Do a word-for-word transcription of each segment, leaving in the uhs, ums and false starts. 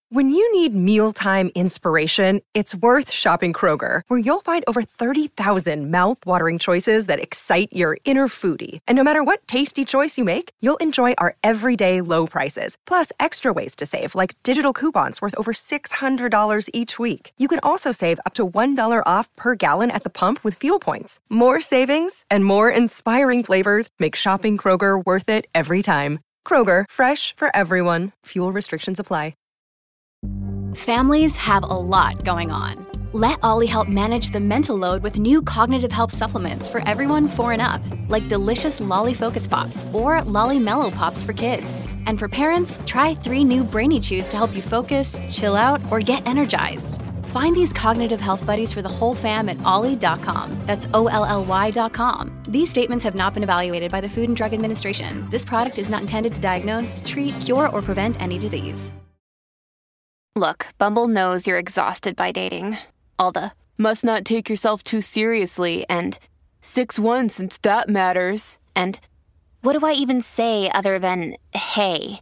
When you need mealtime inspiration, it's worth shopping Kroger, where you'll find over thirty thousand mouth-watering choices that excite your inner foodie. And no matter what tasty choice you make, you'll enjoy our everyday low prices, plus extra ways to save, like digital coupons worth over six hundred dollars each week. You can also save up to one dollar off per gallon at the pump with fuel points. More savings and more inspiring flavors make shopping Kroger worth it every time. Kroger, fresh for everyone. Fuel restrictions apply. Families have a lot going on. Let Ollie help manage the mental load with new cognitive help supplements for everyone four and up, like delicious Lolly Focus Pops or Lolly Mellow Pops for kids. And for parents, try three new Brainy Chews to help you focus, chill out, or get energized. Find these cognitive health buddies for the whole fam at ollie dot com. That's O L L Y dot com. These statements have not been evaluated by the Food and Drug Administration. This product is not intended to diagnose, treat, cure, or prevent any disease. Look, Bumble knows you're exhausted by dating. All the, must not take yourself too seriously, and six one since that matters, and what do I even say other than, hey?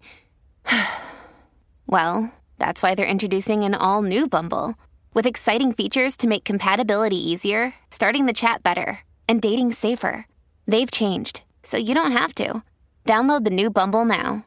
Well, that's why they're introducing an all-new Bumble, with exciting features to make compatibility easier, starting the chat better, and dating safer. They've changed, so you don't have to. Download the new Bumble now.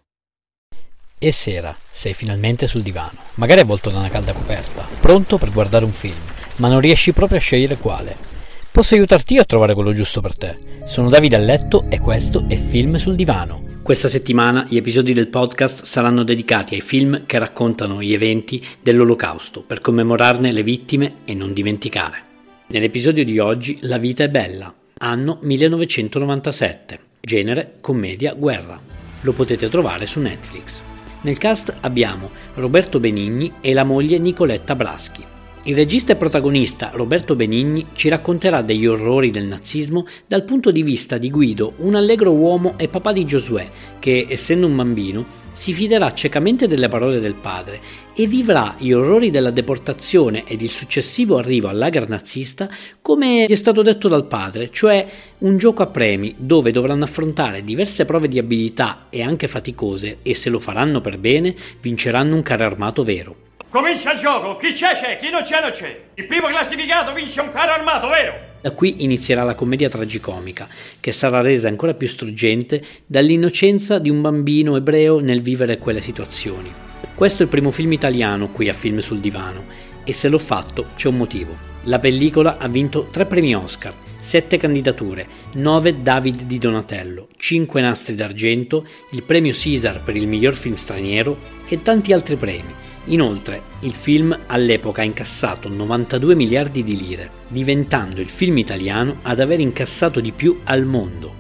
E sera, sei finalmente sul divano, magari avvolto da una calda coperta, pronto per guardare un film, ma non riesci proprio a scegliere quale. Posso aiutarti io a trovare quello giusto per te. Sono Davide a letto e questo è Film sul divano. Questa settimana gli episodi del podcast saranno dedicati ai film che raccontano gli eventi dell'Olocausto per commemorarne le vittime e non dimenticare. Nell'episodio di oggi La vita è bella, anno millenovecentonovantasette, genere commedia guerra. Lo potete trovare su Netflix. Nel cast abbiamo Roberto Benigni e la moglie Nicoletta Braschi. Il regista e protagonista Roberto Benigni ci racconterà degli orrori del nazismo dal punto di vista di Guido, un allegro uomo e papà di Giosuè, che, essendo un bambino, si fiderà ciecamente delle parole del padre e vivrà gli orrori della deportazione ed il successivo arrivo al lager nazista come gli è stato detto dal padre, cioè un gioco a premi dove dovranno affrontare diverse prove di abilità e anche faticose e se lo faranno per bene vinceranno un carro armato vero. Comincia il gioco, chi c'è c'è, chi non c'è non c'è. Il primo classificato vince un carro armato, vero? Da qui inizierà la commedia tragicomica, che sarà resa ancora più struggente dall'innocenza di un bambino ebreo nel vivere quelle situazioni. Questo è il primo film italiano qui a Film sul divano, e se l'ho fatto c'è un motivo. La pellicola ha vinto tre premi Oscar, sette candidature, nove David di Donatello, cinque nastri d'argento, il premio Caesar per il miglior film straniero e tanti altri premi. Inoltre, il film all'epoca ha incassato novantadue miliardi di lire, diventando il film italiano ad aver incassato di più al mondo.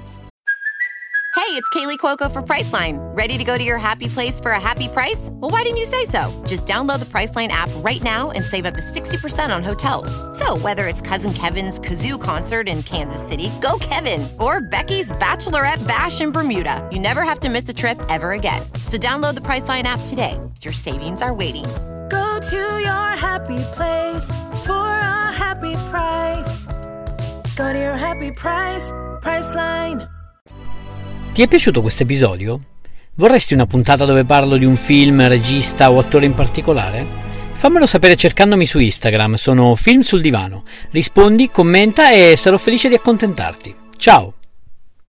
Hey, it's Kaylee Cuoco for Priceline. Ready to go to your happy place for a happy price? Well, why didn't you say so? Just download the Priceline app right now and save up to sixty percent on hotels. So whether it's Cousin Kevin's Kazoo Concert in Kansas City, go Kevin, or Becky's Bachelorette Bash in Bermuda, you never have to miss a trip ever again. So download the Priceline app today. Your savings are waiting. Go to your happy place for a happy price. Go to your happy price, Priceline. Ti è piaciuto questo episodio? Vorresti una puntata dove parlo di un film, regista o attore in particolare? Fammelo sapere cercandomi su Instagram, sono Film sul divano. Rispondi, commenta e sarò felice di accontentarti. Ciao!